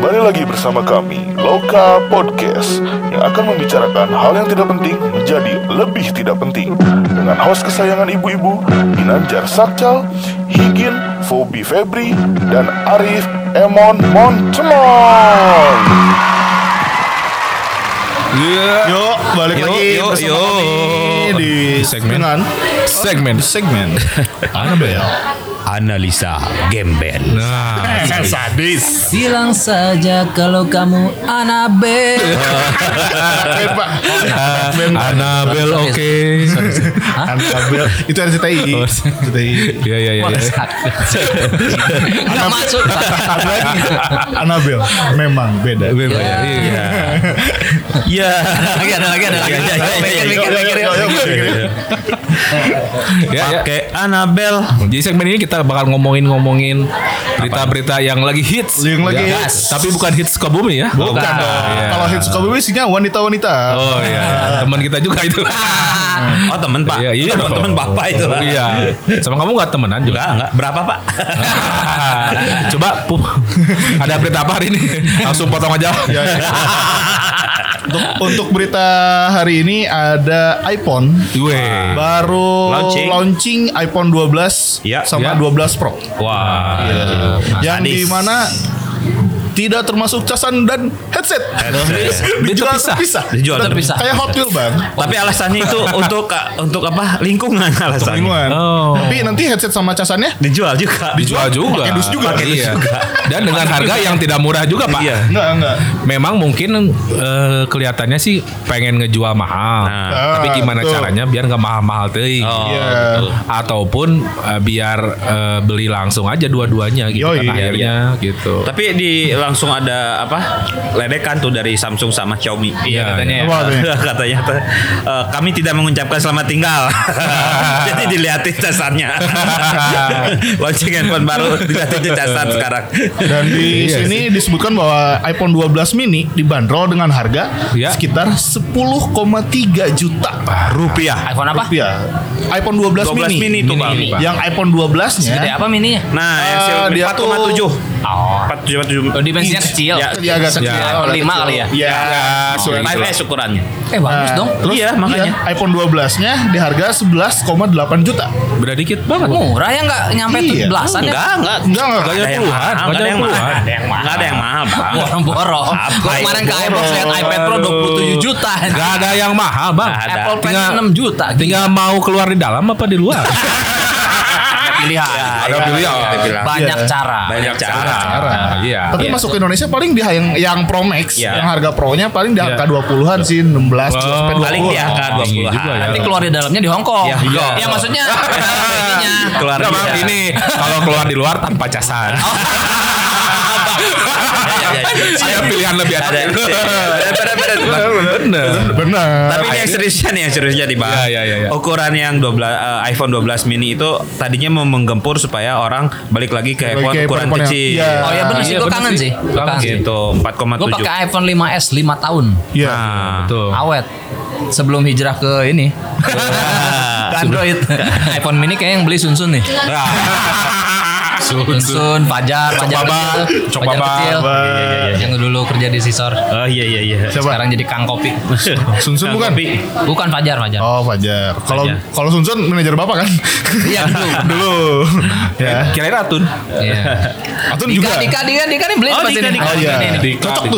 Kembali lagi bersama kami, Loka Podcast, yang akan membicarakan hal yang tidak penting menjadi lebih tidak penting, dengan host kesayangan ibu-ibu, Ginanjar Sakcal, Higin, Fobi Febri, dan Arif Emon Montemon. Yuk, balik lagi bersama kami di segmen Anabel. Analisa Gembel. Nah, sadis. Bilang saja kalau kamu Anabel. Anabel oke. Anabel itu RCTI. Iya. Nggak masuk. Anabel memang beda. Iya. Ada lagi. Pakai Anabel. Jadi segmen ini kita bakal ngomongin berita-berita yang lagi hits. Yang lagi Ya, hits. tapi bukan hits Sukabumi ya. Bukan dong. Iya. Kalau hits Sukabumi isinya wanita-wanita. Oh iya, teman kita juga itu. Oh temen Pak. Iya, temen Bapak itu. Iya. Sama kamu nggak temenan juga? Enggak. Berapa Pak? Coba, ada berita apa hari ini? Langsung potong aja. Untuk berita hari ini ada iPhone Weh. baru launching iPhone 12 Ya, sama ya. 12 Pro. Wah. Yang di mana tidak termasuk casan dan headset. Dijual terpisah. Dijual terpisah. Kayak Hot Wheels, Bang. Tapi alasannya itu untuk apa? Lingkungan alasannya. Lingkungan. Oh. Tapi nanti headset sama casannya Dijual juga. Dijual juga. Pakai dus juga. Iya. Dan dengan harga yang tidak murah juga, Pak. Iya. Enggak. Memang mungkin kelihatannya sih pengen ngejual mahal. Tapi gimana betul. caranya biar nggak mahal-mahal teuing. Oh, Iya. betul. Ataupun biar beli langsung aja dua-duanya gitu Yoi, kan akhirnya gitu. Tapi langsung ada apa? Ledekan tuh dari Samsung sama Xiaomi. Iya, katanya. Apa katanya? Katanya kami tidak mengucapkan selamat tinggal. Jadi dilihatin casannya. Launching handphone baru dilihatin casan sekarang. Dan di sini disebutkan bahwa iPhone 12 mini dibanderol dengan harga Ya. sekitar 10,3 juta Rupiah. iPhone apa? rupiah. iPhone 12, 12 mini tuh Bang. Yang iPhone 12-nya Gede apa mininya? Nah, yang Xiaomi dia 4,7. Oh. 4,7. Dimensinya kecil. Ya, dia agak kecil. iPhone 5 kali ya? Ya, sesuai. 5S ukurannya. Bagus dong. Terus Iya, makanya. iPhone 12-nya di harga 11,8 juta. Beda dikit banget. Murah ya, nggak nyampe Iya. belasan ya? Enggak. Enggak. Nggak ada yang mahal. Nggak ada yang mahal. Nggak ada yang mahal, Bang. Boro-boro. Gua kemarin ke iPhone lihat iPad Pro 27 juta. Gak ada yang mahal, Bang. Nggak ada. Apple Pen Tinggal- 6 juta. Tinggal mau keluar di dalam apa di luar? Pilihan. Ada pilihan. Banyak cara. Banyak cara. Iya. Tapi masuk ke Indonesia paling di yang Pro Max, Iya. yang harga Pro-nya paling di Iya. angka 20-an sih, 16 sampai 20. Paling di angka 20 juga ya. Nanti keluar di dalamnya di Hong Kong. Iya. Ya maksudnya ininya. Keluar Enggak, Bang, bisa. ini kalau keluar di luar tanpa casan. Ada pilihan lebih ada. Benar. Tapi ini yang seriusnya di bawah. Iya. Ukuran yang 12 iPhone 12 mini itu tadinya mau menggempur supaya orang balik lagi ke iPhone Kayak ukuran iPhone yang- kecil. iya. Oh ya benar sih, gue kangen sih. Gua kangen sih. Gitu, Gue 4,7. pakai iPhone 5S 5 tahun. Iya. Nah, Betul. Awet. Sebelum hijrah ke ini. Ke Android. iPhone mini kayak yang beli Sunsun nih. Sunsun, Fajar Baba. Cok Fajar Baba. kecil. Yang dulu kerja di Sisor. Oh iya. Sekarang jadi Kang Kopi. Sunsun bukan? Kopi. Bukan Fajar. Oh, Fajar. Kalau Sunsun manajer Bapak kan? Iya dulu. Dulu. Ya. Kirain Atun. Iya. Atun juga. Dika nih beli Oh, pas Dika, ini. Dika. Oh iya. Ini. Cocok tuh.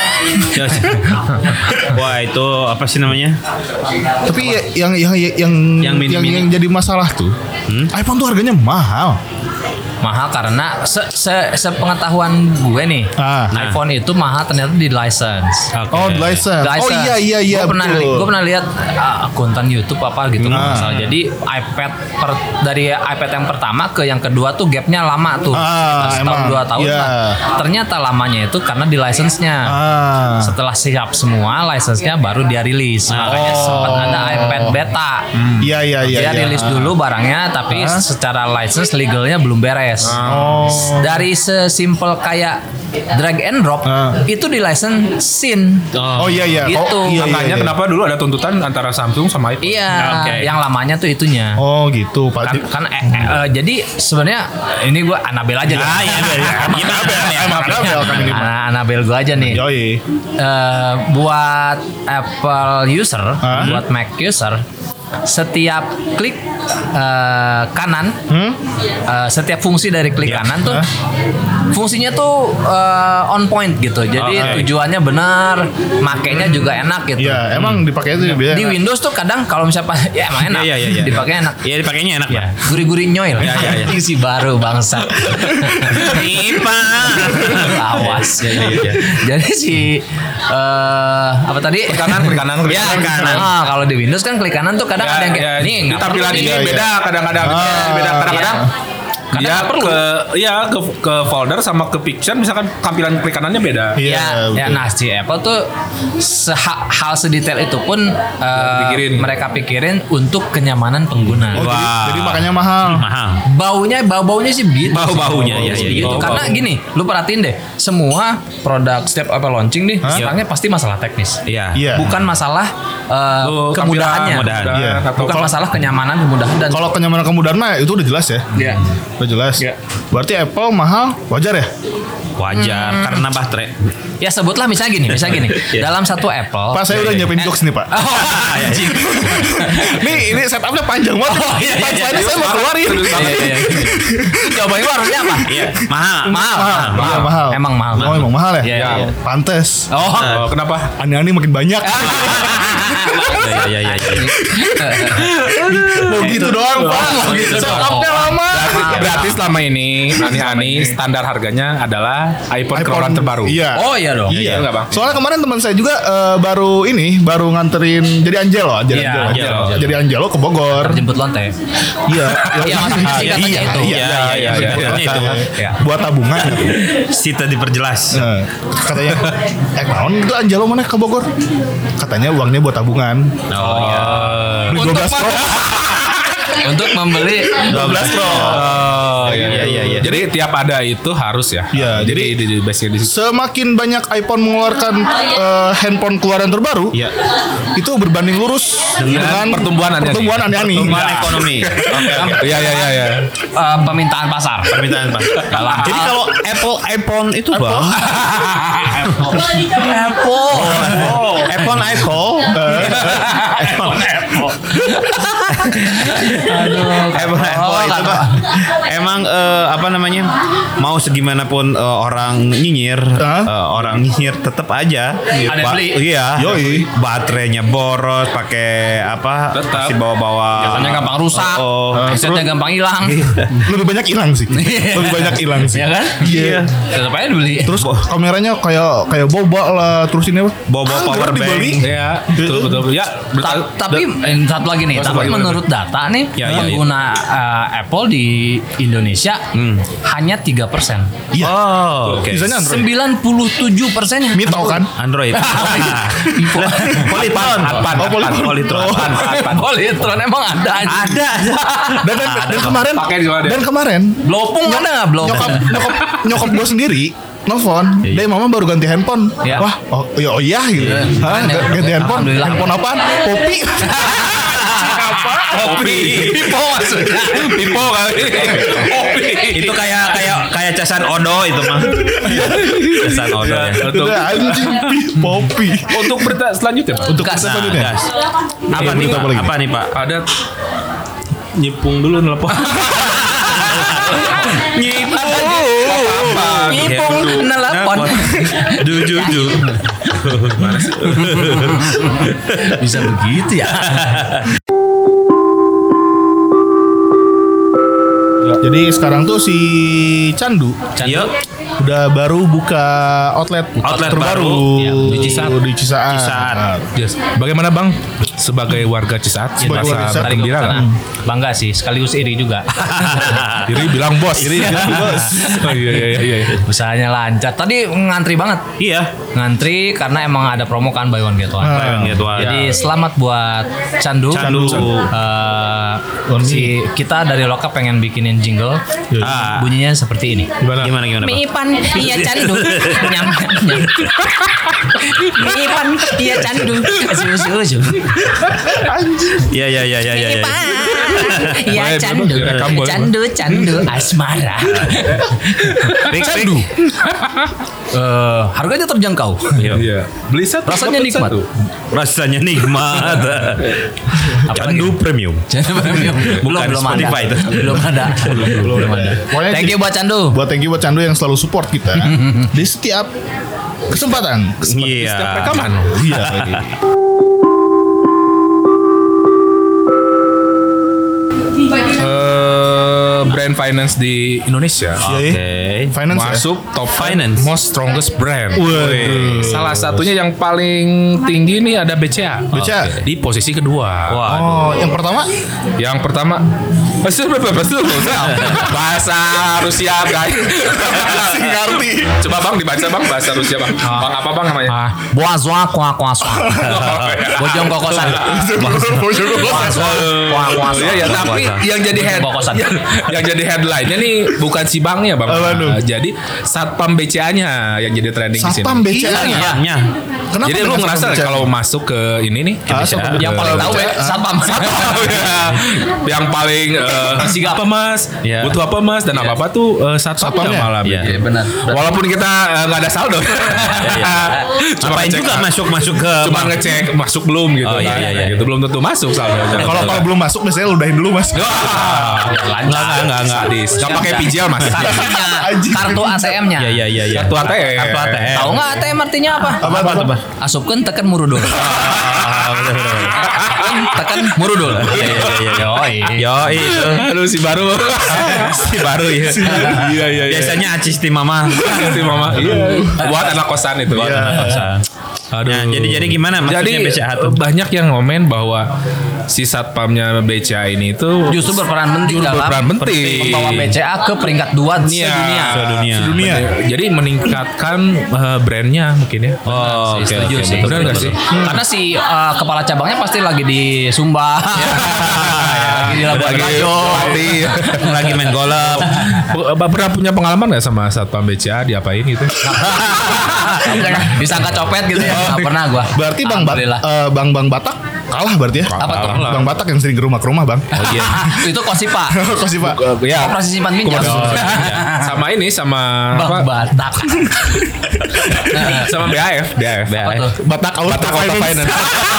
Wah, itu apa sih namanya? Tapi yang mini-mini. jadi masalah tuh, iPhone tuh harganya mahal. Mahal karena sepengetahuan gue nih, iPhone itu mahal ternyata di license. Oh, license. Oh iya. Gue pernah lihat konten YouTube apa gitu nggak masalah. Jadi dari iPad yang pertama ke yang kedua tuh gapnya lama tuh, setahun 2 tahun Iya. lah. Ternyata lamanya itu karena di license-nya. Setelah siap semua license-nya baru dia rilis. Makanya sempat ada iPad beta. Iya. Dia rilis dulu barangnya, tapi secara license legalnya belum beres. wireless. Dari sesimpel kayak drag and drop itu di license SYN. Oh iya. Itu. Makanya kenapa dulu ada tuntutan antara Samsung sama iPhone. Iya, yang lamanya tuh itunya. Oh gitu Pak. Jadi sebenarnya ini gue Anabel aja. Anabel gue aja nih. Yoi. Buat Apple user, buat Mac user, setiap klik kanan, setiap fungsi dari klik kanan tuh fungsinya tuh on point gitu. Jadi tujuannya benar, makainya juga enak gitu. Iya, emang dipakai itu biasa. Di Windows tuh kadang kalau misalnya ya emang enak, dipakai enak. Iya, dipakainya enak lah. Gurih-gurih nyoil. Isi baru bangsa. Nipa. Awas. Jadi apa tadi? Klik kanan. Ya, kanan. Kalau di Windows kan klik kanan tuh kadang ada yang kayak nih tampilan ini beda kadang-kadang beda kadang-kadang dia ke folder sama ke picture misalkan tampilan klik kanannya beda. Iya. Nah si Apple tuh hal sedetail itu pun mereka pikirin untuk kenyamanan pengguna. Jadi makanya mahal. Baunya sih begitu. Baunya ya. Gitu. Karena gini, lu perhatiin deh, semua produk setiap Apple launching nih, sekarangnya pasti masalah teknis. Iya. Bukan masalah kemudahannya. Bukan masalah kenyamanan, kemudahan dan kalau kenyamanan kemudahan mah itu udah jelas ya. Iya. Udah jelas. Berarti Apple mahal wajar ya? Wajar karena baterai. Ya sebutlah misalnya gini. Dalam satu Apple. Pak saya udah nyiapin jokes nih Pak. Ini setupnya panjang banget. Punchline-nya saya mau keluarin. Jawabannya harusnya apa? Mahal. Emang mahal. Oh emang mahal ya? Iya. Pantes. Kenapa? Ani-ani makin banyak. Iya. Mau gitu doang Pak. Setupnya lama. Berarti selama ini ani-ani standar harganya adalah iPhone keluaran terbaru. Iya. Oh iya dong. Iya enggak Bang? Soalnya kemarin teman saya juga baru nganterin jadi Angelo. Jadi Angelo ke Bogor. Jemput lonte. Iya. Iya maksudnya singkatannya itu. Iya. Buat tabungan. Sita diperjelas. Katanya naon itu Angelo mana ke Bogor? Katanya uangnya buat tabungan. Oh iya. Beli 12 Pro. Untuk membeli 12 Pro. Iya. Jadi tiap ada itu harus ya. Iya, Jadi di base-nya di situ. Semakin banyak iPhone mengeluarkan handphone keluaran terbaru, itu berbanding lurus dengan pertumbuhan ani-ani. Pertumbuhan ekonomi. Iya. permintaan pasar. Jadi kalau Apple iPhone itu Bang. Apple itu Pak. Emang mau segimanapun orang nyinyir tetap aja ada beli. Iya. Yoi. Baterainya boros, pakai Tetap. si bawa-bawa. Biasanya gampang rusak. Headsetnya gampang hilang. Lebih banyak hilang sih. Ya kan? Iya. Tetap aja dibeli. Terus kameranya kayak boba lah, terus ini apa? Bawa power bank. Iya, betul. Ya, Tapi satu lagi nih, menurut data nih pengguna Apple di Indonesia hanya 3%. Iya. Oh, oke. Misalnya Android. 97% Mito kan? Android. Polytron. Polytron emang ada aja. Dan kemarin Blopung ada nggak Blopung? nyokap gue sendiri nelfon, dia mama baru ganti handphone. Iya. Wah, iya gitu. Hah, ganti handphone? Alhamdulillah. Handphone apaan? Poppy. Pipo maksudnya. Pipo kali. Itu kayak casan Odo itu mah. Casan Odo ya. Udah anjing Poppy. Untuk berita selanjutnya, Pak. Untuk kita selanjutnya. Gas. Apa nih Pak? Ada nyipung dulu nelpon. Nyipung nelpon. Jujur. Bisa begitu ya. Jadi sekarang tuh si Candu Yuk. udah baru buka outlet terbaru Ya, di Cisaat. Yes. Bagaimana Bang? Sebagai warga Cisaat, Sebagai warga merasa Cisaat, gembira nggak? Bangga sih, sekaligus iri juga. Iri bilang bos. Oh, iya. Usahanya lancar. Tadi ngantri banget. Iya. Ngantri karena emang ada promo kan buy one get one. Jadi selamat buat Candu. Kita dari Lokap pengen bikinin jingle. Bunyinya seperti ini. Gimana Pak? Miipan iya candu. Nyam. Miipan iya candu. Susu. Iya. Miipan iya candu. Candu asmara. Candu. Harganya terjangkau. Iya. Beli satu Rasanya dapat nikmat. satu. Rasanya nikmat. Candu premium. Belum Spotify ada. itu. Belum ada. Pokoknya Thank you buat Candu. Thank you buat Candu yang selalu support kita di setiap kesempatan. Iya. Setiap rekaman. Iya. Brand finance di Indonesia. Oke. Finance ya? Masuk top Finance. most strongest brand. Waduh. Salah satunya yang paling tinggi nih ada BCA. BCA. Di posisi kedua. Waduh. Oh, yang pertama Yang pertama bahasa Rusia guys. ngerti. Coba Bang dibaca Bang bahasa Rusia Bang. Bang apa Bang namanya? Boazwa kuah-kuah. Bojong kokosan. Iya ya, tapi yang jadi yang jadi headline-nya nih bukan si Bangnya Bang. Jadi Satpam BCA-nya yang jadi trending di sini. Satpam BCA. Iya. Kenapa Jadi lu dengan ngerasa Satpam BCA? kalau masuk ke ini nih ke BCA, Yang paling tahu ya Satpam. yang paling Sigap. apa Mas? Iya. Butuh apa Mas? Dan apa-apa tuh satpamnya Satpamnya. malah. Iya. bikin. Benar. Walaupun kita nggak ada saldo. Cuma Ngapain ngecek, juga masuk ke cuma ngecek masuk belum gitu. Oh, iya, kan. iya. Gitu belum tentu masuk saldonya. Kalau belum masuk biasanya ludahin dulu Mas. Enggak. Sadis. Enggak pakai pijal Mas. Kartu ATM-nya. Iya. Kartu ATM. Kartu ATM. Tahu nggak ATM artinya apa? Apa? Asupkeun tekan murudul. Tekan murudul. Yo itu. Aduh si baru. Si baru ya. Iya. Biasanya acis ti mama. Si mama. Iya. Buat anak kosan itu. Buat anak kosan. Aduh. Nah, jadi gimana maksudnya Jadi BCA tuh? banyak yang ngomen bahwa si satpamnya BCA ini itu Justru berperan penting dalam membawa BCA ke peringkat 2 sedunia. Sedunia. Jadi meningkatkan brandnya mungkin ya. Oh, oke. Setuju sih. Benar nggak sih? Karena si kepala cabangnya pasti lagi di Sumba. Lagi di Labuan Bajo. Lagi main golf. Pernah punya pengalaman nggak sama satpam BCA diapain gitu? Disangka copet gitu ya. Nggak pernah gua. Berarti Bang Alhamdulillah. Bang Batak kalah berarti ya? Apa tuh? Bang Batak yang sering ke rumah Bang. Oh iya. Itu Kosipa. Kok sih Pak? Ya. Operasi simpan pinjam. Sama ini sama Bang Batak. sama BAF. Apa tuh? Batak Auto Finance.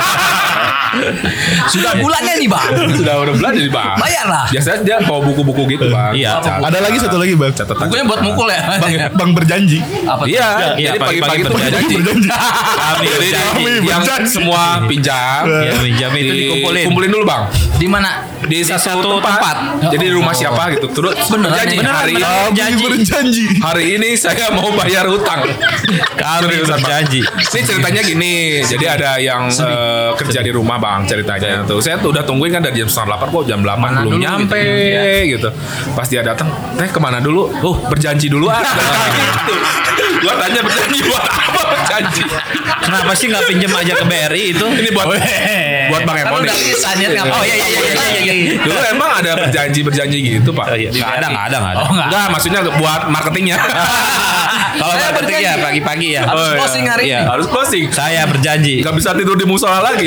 Sudah bulannya nih Bang. udah bulan jadi Bang. Bayar lah. Biasanya dia bawa buku-buku gitu Bang. Iya. Ada lagi satu lagi Bang. Catatan. Bukunya buat mukul ya. Bang berjanji. Apa tuh? Iya, Iya, jadi pagi-pagi tuh berjanji. berjanji. Kami Jadi yang berjanji. semua pinjam, Ya, pinjam itu dikumpulin. kumpulin dulu Bang. Di mana? Di satu tempat. Jadi di rumah siapa gitu. Terus Beneran berjanji nih? hari ini. Kami berjanji. Hari ini saya mau bayar utang. Kami Seriusan, Bang. berjanji. Ini ceritanya gini. Jadi ada yang kerja di rumah Bang ceritanya tuh. Saya tuh udah tungguin kan dari jam 7.30 kok jam 8 Mana belum dulu nyampe gitu. Pas dia datang, "Teh kemana dulu?" Berjanji dulu ah. Gitu. Gua tanya berjanji buat apa berjanji? Kenapa sih nggak pinjam aja ke BRI itu? Ini buat Bang Kan Emon. udah bisa nih ngapa? Oh iya. Dulu emang ada berjanji gitu Pak. Nggak ada. Oh enggak. Enggak, maksudnya buat marketingnya. Kalau Saya marketing ya berjanji. pagi-pagi ya. Harus Oh, iya. closing hari Iya. ini. Harus closing. Saya berjanji. Gak bisa tidur di musola lagi.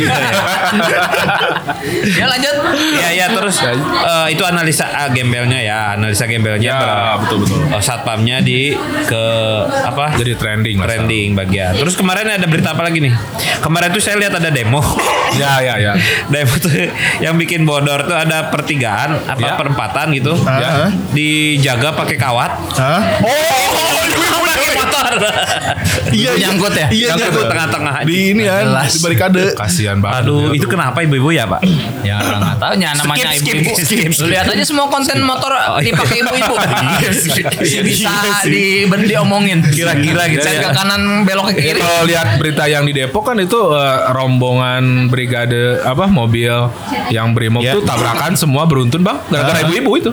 Ya lanjut. Iya terus itu analisa gembelnya ya, Ya, betul. satpamnya di ke apa? Jadi trending. Mas. Trending bagian. Terus kemarin ada berita apa lagi nih? Kemarin tuh saya lihat ada demo. Ya. Demo tuh yang bikin bodor tuh ada pertigaan apa Ya. perempatan gitu. Ya. Dijaga pakai kawat. Hah? Oh, motor. Iya, nyangkut ya? Iya, nyangkut tengah-tengah. di ini kan, di barikade. Kasihan banget. Aduh, itu kenapa ibu-ibu ya, Pak? Ya nggak tahu ya namanya Skip, ibu-ibu. skip. Lu lihat aja semua konten motor dipakai ibu-ibu. Bisa diomongin. Kira-kira gitu Saya ya. ke kanan belok ke kiri. Kalau lihat berita yang di Depok kan itu rombongan brigade apa mobil yang brimob Ya. tuh tabrakan semua beruntun bang gara-gara ibu-ibu itu.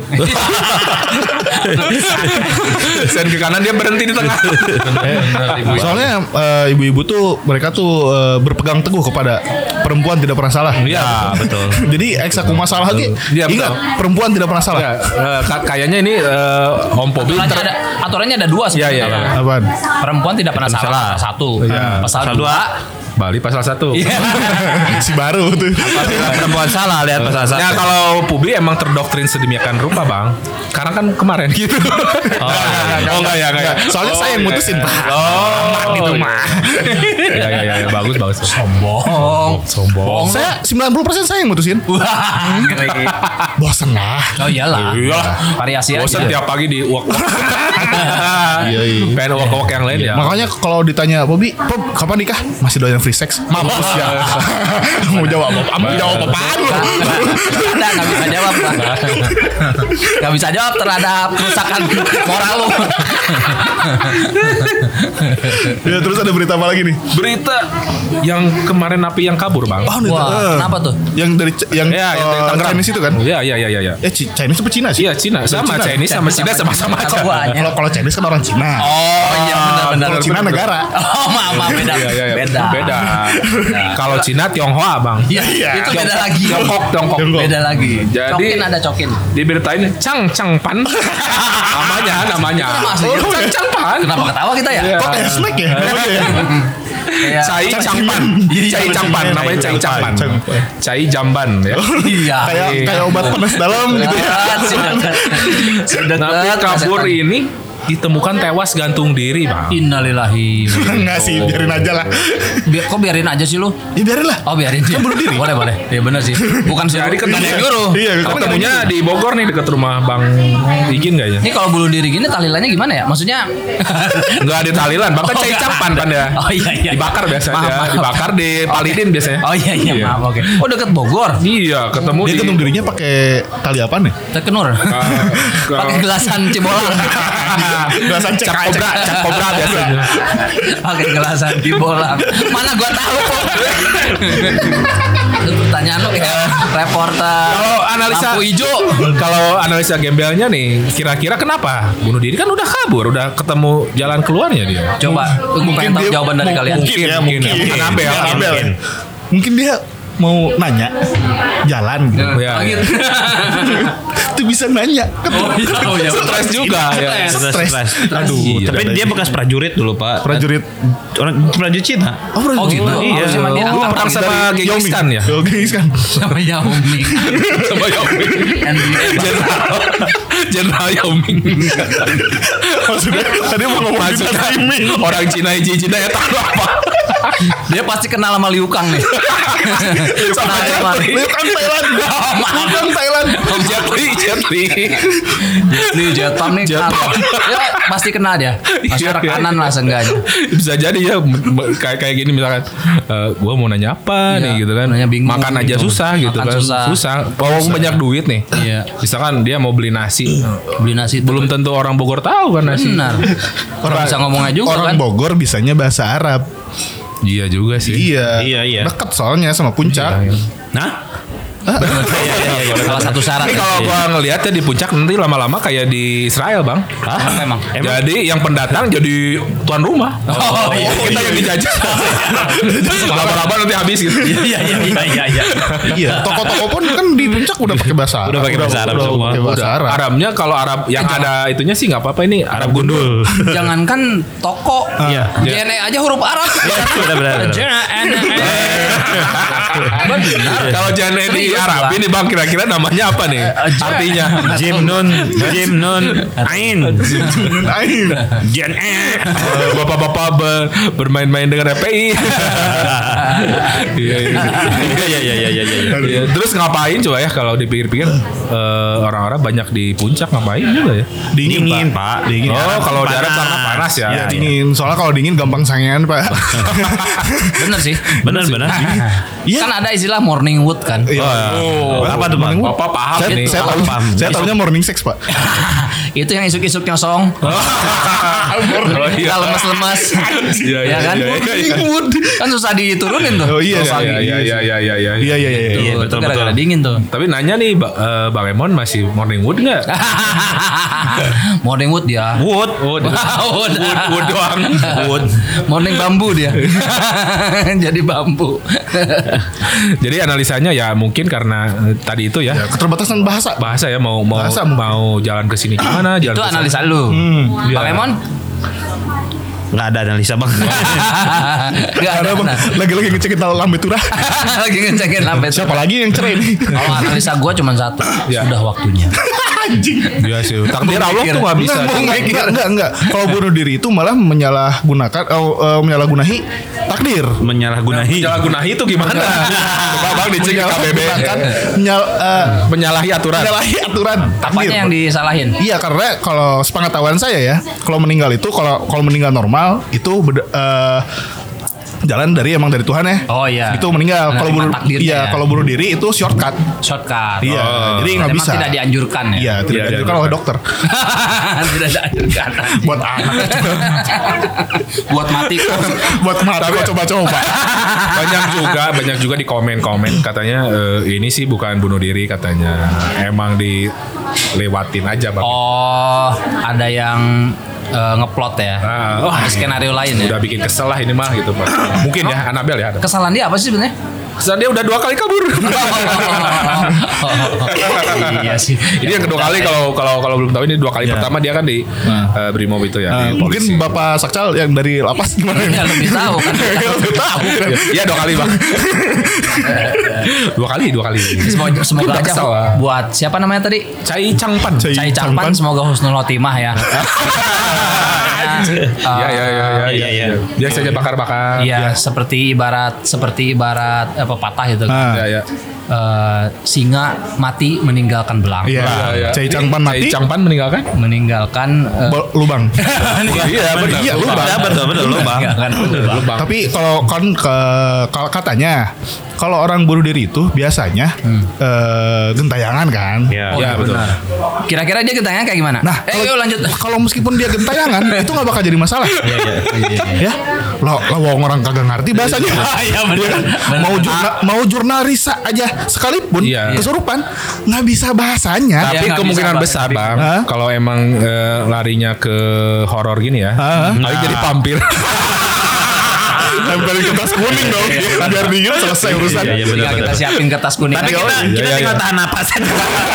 Sen ke kanan dia berhenti di tengah. Soalnya ibu-ibu tuh mereka tuh berpegang teguh kepada perempuan tidak pernah salah. Iya betul. Jadi eksaku masalah lagi. Iya, Ingat, betul. perempuan tidak pernah salah. Ya, kayaknya ini Om Pobi Aturannya ada dua Iya, iya, sebenarnya. iya. Apaan? Perempuan tidak pernah salah. Satu. Iya. Pasal dua. Bali pasal 1. Si baru tuh. Perempuan salah lihat pasal Ya kalau Publi emang terdoktrin sedemikian rupa bang. Karena kan kemarin gitu. Oh enggak ya. Soalnya saya yang mutusin, Pak. Gitu mah. Ya bagus. Sombong. Saya 90% saya yang mutusin. Bosen lah. Oh iyalah. Variasi Bosan aja. tiap pagi di uak. Iya. Pengen uak yang lain ya. Makanya kalau ditanya Bobby, Bob kapan nikah? Masih doyan free sex? Mampus ya. Mau jawab apa? Mau jawab apaan lu? Nggak bisa jawab lah. Nggak bisa jawab terhadap kerusakan moral lu. Ya terus ada berita apa lagi nih? Berita yang kemarin napi yang kabur bang. Wah, kenapa tuh? Yang dari yang Ya, yang dari Tangerang. Chinese itu kan? Iya. Chinese apa Cina sih? Iya Cina sama Cina. Chinese sama Cina sama-sama aja. Keduanya. Kalau Chinese kan orang Cina. Oh iya benar-benar. Kalau Cina negara. Oh maaf beda. Iya. Beda. Kalau Cina Tionghoa bang. Iya, itu beda lagi. Tiongkok. Beda lagi. Jadi- Cokin ada cokin. Di berita ini Chang Pan namanya. Chang Pan. Kenapa ketawa kita ya? Iya. Kok kayak snack ya? Namanya ya? Iya. Cai Changpan. Cai Changpan namanya Cai Changpan. Cai Jamban ya. Iya. Kayak obat panas dalam gitu ya. Sudah Napi kabur ini ditemukan tewas gantung diri bang. Innalillahi. Enggak sih, biarin aja lah. Kok biarin aja sih lu? Ya biarin lah. Oh biarin dia. Bunuh diri. Boleh. Iya benar sih. Bukan Jadi bukan yang nyuruh. Iya, Ketemunya di Bogor nih dekat rumah Bang Igin kayaknya. Ini kalau bunuh diri gini tahlilannya gimana ya? Maksudnya Enggak ada tahlilan, bahkan Cai Campan kan ya. Oh iya. Dibakar biasanya, Maaf. dibakar di Palidin biasanya. Oh iya maaf oke. Oh dekat Bogor. Iya, ketemu Dia di gantung dirinya pakai tali apa nih? Terkenur. Pakai gelasan Cibolang. Gelasan cek Cap kobra biasanya. Pakai gelasan Cibolang. Mana gua tahu kok. Itu pertanyaan lo kayak reporter. Kalau analisa lampu hijau. Kalau analisa gembelnya nih, kira-kira kenapa bunuh diri kan udah kabur, udah ketemu jalan keluarnya dia. Coba gue pengen tahu jawaban dari kalian. Mungkin. Anabel. Mungkin dia mau nanya jalan gitu. Ya, ya. Itu bisa nanya. Oh iya. Stres juga ya. Stres. Aduh, Iya. tapi dia bekas prajurit dulu, Pak. Prajurit. Orang prajurit Cina. Oh gitu. Iya. Harusnya mah dia Oh, angkatan perang sama Dari Genghis Yao Khan Ming. ya? Genghis Khan. sama Yao Ming. Sama Yao Ming. Jenderal Yao Ming. Maksudnya tadi mau ngomong Maksudnya timing. orang Cina ya tahu apa? Dia pasti kenal sama Liu Kang nih. Sama Kenal Jet Li. Liu Kang Thailand. Liu Kang Thailand. Jet Li. Jet Pam nih kenal. Ya pasti kenal dia. Masuk Iya, rekanan lah seenggaknya. Bisa jadi ya kayak gini misalkan gue mau nanya apa nih gitu kan, nanya bingung makan aja gitu. susah gitu Makan kan, susah. bawa banyak duit nih, Iya. misalkan dia mau beli nasi, Beli nasi belum tentu orang Bogor tahu kan nasi. benar. Orang bisa ngomongnya juga Orang kan. Bogor bisanya bahasa Arab. Iya juga sih. Iya. Dekat soalnya sama puncak. Nah, Salah satu syarat. Tapi kalau gua ngelihat ya di puncak nanti lama-lama kayak di Israel bang. Apa emang? Jadi yang pendatang jadi tuan rumah. Oh, iya. Kita yang dijajah. Lama-lama nanti habis gitu. Iya. Iya. Toko-toko pun kan di puncak udah pakai bahasa Arab. Udah pakai bahasa Arab semua. pakai bahasa Arab. Arabnya kalau Arab yang ada itunya sih nggak apa-apa ini Arab gundul. Jangankan toko, Iya. JNE aja huruf Arab. Benar. JNE. Kalau Janedi Arab ini Bang, kira-kira namanya apa nih? Artinya Jim Nun Ain Jen bapak-bapak bermain-main dengan FPI. Iya. Terus ngapain coba ya kalau dipikir-pikir orang-orang banyak di puncak ngapain juga ya? Dingin Pak. Dingin. Oh, kalau di Arab karena panas ya. Iya, dingin. Soalnya kalau dingin gampang sangean, Pak. Bener sih. Bener. Iya. Kan ada istilah morning wood kan. Oh, apa tuh Bang? Bapak paham nih. Saya tahunya morning sex, Pak. Itu yang isuk-isuk nyosong. iya. Kalau lemas-lemas. Iya, Ya kan? Kan susah diturunin tuh. Oh iya. Iya. Iya. Itu gara-gara dingin tuh. Tapi nanya nih Bang Emon masih morning wood nggak? Morning wood dia. Wood. Wood doang. Wood. Morning bambu dia. Jadi bambu. Jadi analisanya ya mungkin karena tadi itu ya. Keterbatasan bahasa. Bahasa ya mau Bahasa mungkin. mau jalan ke sini gimana? Jalan Itu ke sana. analisa lu. Bang Iya. Emon? Nggak ada analisa Bang. Gak ada. Ada Bang, lagi-lagi ngecekin lambe turah. Lagi ngecekin lambe. Siapa lagi yang cerai nih? Kalau analisa gue cuma satu. Ya. Sudah waktunya. Anjing. Iya sih. Takdir Allah tuh nggak bisa. Enggak. Kalau bunuh diri itu malah menyalahgunahi takdir. Menyalahgunahi. Menyalahgunahi itu gimana? Coba Bang dicek ke KBB. Menyalahi aturan. Menyalahi aturan takdir. Apanya yang disalahin? Iya, karena kalau sepengetahuan saya ya, kalau meninggal itu kalau meninggal normal itu jalan dari Tuhan ya. Oh iya. Itu meninggal. Kalau bunuh kalau bunuh diri itu shortcut. Shortcut. Iya. Jadi nggak Memang bisa. tidak dianjurkan ya. Iya, tidak dianjurkan oleh dokter. Tidak dianjurkan. Buat anak. Buat mati kok. Buat mata kok coba-coba. banyak juga di komen katanya ini sih bukan bunuh diri katanya. Emang dilewatin aja Bang. Oh, ada yang ngeplot ya. Ada skenario lain ya. Udah bikin kesel lah ini mah gitu Pak. Mungkin ya Anabel ya. Kesalahan dia apa sih sebenarnya? Dia udah 2 kali kabur. Iya sih. Ini yang kedua kali kalau belum tahu ini 2 kali pertama dia kan di Brimob itu ya. di Mungkin polisi. Bapak Sakcal yang dari lapas gimana? Ya, lebih tahu kan. Lebih tahu kan. Iya 2 kali Bang. 2 kali. Semoga Udah aja kesel lah. buat siapa namanya tadi? Cai Changpan. Cai Changpan semoga husnul khotimah ya. Iya. Biasanya bakar-bakar. Iya, seperti ibarat pepatah itu. Iya. Singa mati meninggalkan belang. Iya. Cai Changpan mati. Cai Changpan meninggalkan? Meninggalkan Lubang. Iya benar. Iya, lubang. Ya, betul lubang. meninggalkan lubang. Tapi kalau kalau katanya kalau orang bunuh diri itu biasanya gentayangan kan. Ya. Iya betul. Kira-kira dia gentayangan kayak gimana? Nah, yuk lanjut. Kalau meskipun dia gentayangan itu nggak bakal jadi masalah. Ya, lo orang kagak ngerti bahasanya. Iya benar. Mau jurnalis aja sekalipun Iya. kesurupan nggak bisa bahasanya. Tapi nggak kemungkinan bisa, besar Bang, Hah? kalau emang larinya ke horor gini ya, paling jadi vampir. Tempelin kertas kuning dong, biar dingin selesai urusan. Iya, benar. Tinggal kita siapin kertas kuning. Tapi aja. kita tinggal tahan napas aja.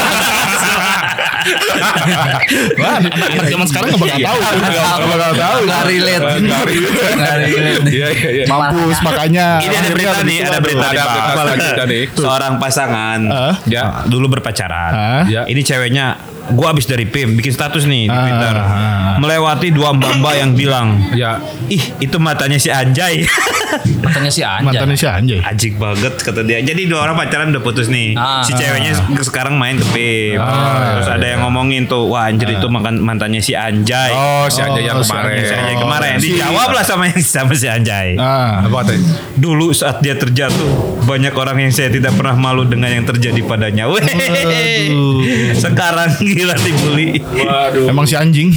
Wah, anak zaman sekarang nggak bakal tahu, nggak bakal tahu. Nggak relate. Nggak relate. Iya. Mampus makanya. Ini ada berita nih, ada berita nih, Pak. Ada nih. Seorang pasangan Ya. dulu berpacaran. Ya. Ini ceweknya, gua abis dari PIM bikin status nih di Twitter. Melewati 2 mbak-mbak yang bilang, Ya. ih itu matanya si Anjay. Matanya si Anjay. Mantannya si Anjay. Ajik banget kata dia. Jadi 2 orang pacaran udah putus nih. Si ceweknya sekarang main ke PIM. Terus ada yang ngomongin tuh, wah anjir itu mantannya si Anjay. Oh, si Anjay yang si kemarin. Si Anjay kemarin dijawab lah sama si Anjay. Apa katanya? Dulu saat dia terjatuh, banyak orang yang saya tidak pernah malu dengan yang terjadi padanya. Weh. Sekarang gila dibully. Waduh. Emang si anjing.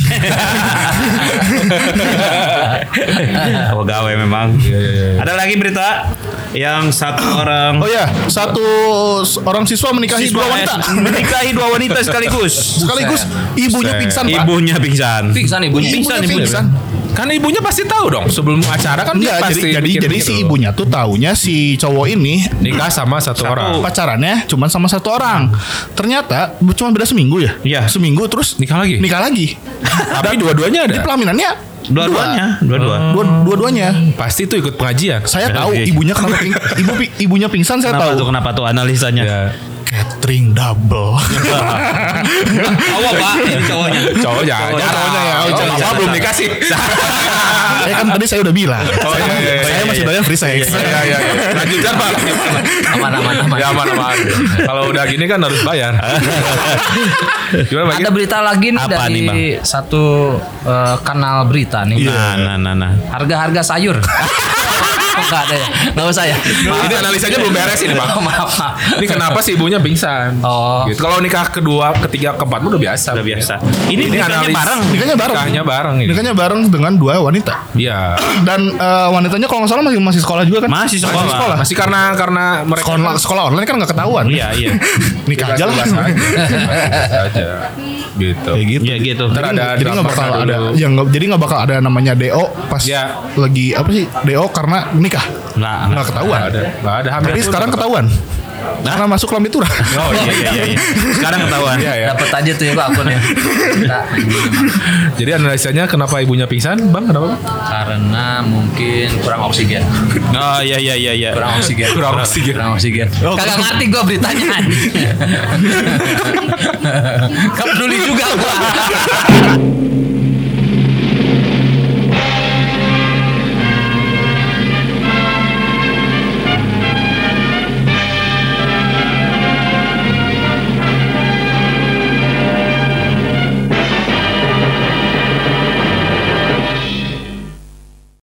Gawe memang. Ada lagi berita yang satu orang Oh ya, satu orang siswa menikahi 2 wanita. menikahi 2 wanita sekaligus. Sekaligus ibunya pingsan, Pak. Ibunya pingsan. Pingsan ibunya. Pingsan Ibunya ibunya. pingsan. Kan ibunya pasti tahu dong sebelum acara kan dia Enggak, pasti jadi bikin si gitu. ibunya tuh taunya si cowok ini nikah sama satu orang. pacarannya cuma sama 1 orang. Ternyata cuma beda seminggu ya. Iya. Seminggu terus Nikah lagi? Nikah lagi. Tapi dua-duanya ada. Jadi pelaminannya Dua-duanya. dua-duanya. Pasti tuh ikut pengajian. Saya tahu Iya. ibunya kenapa ibunya pingsan saya Kenapa tahu. tuh analisanya? Ya. catering double. Cowok Pak, ini cowoknya. Cowoknya ya. Bapak belum dikasih. Saya kan tadi saya udah bilang. Iya. Saya masih bayar free sex. Iya. Lanjutkan Pak. Aman. Ya aman. Kalau udah gini kan harus bayar. Gimana Pak? Ada berita lagi nih Apa dari nih, Bang? satu kanal berita nih. Nah. Harga-harga sayur. Enggak ada ya. Enggak usah ya. Ini analisanya belum beres ini Pak. Maaf. Ini kenapa sih ibunya pingsan? Oh. Gitu. Kalau nikah kedua, ketiga, keempat udah biasa. Udah biasa. Ini nikahnya analis- bareng. Nikahnya bareng ini. Nikahnya bareng dengan 2 wanita. Iya. Dan wanitanya kalau nggak salah masih sekolah juga kan? Masih sekolah. Masih karena mereka Sekolah online kan nggak ketahuan. Iya. Nikah aja lah. aja. Gitu. Kayak gitu. Ya gitu. Ntar ada Jadi nggak bakal drama ada, dulu. jadi nggak bakal ada namanya DO pas Ya. lagi apa sih DO karena nikah nggak ketahuan. Nggak ada hamil. Tapi pun sekarang nggak ketahuan. Karena masuk lambe turah. Oh iya. Sekarang ketahuan. Iya. Dapat aja tuh ya Pak akunnya. Nah, Jadi analisanya kenapa ibunya pingsan, Bang? Kenapa? karena mungkin kurang oksigen. Oh iya. Kurang oksigen. Kagak ngerti gue beritanya. Gak peduli juga gue.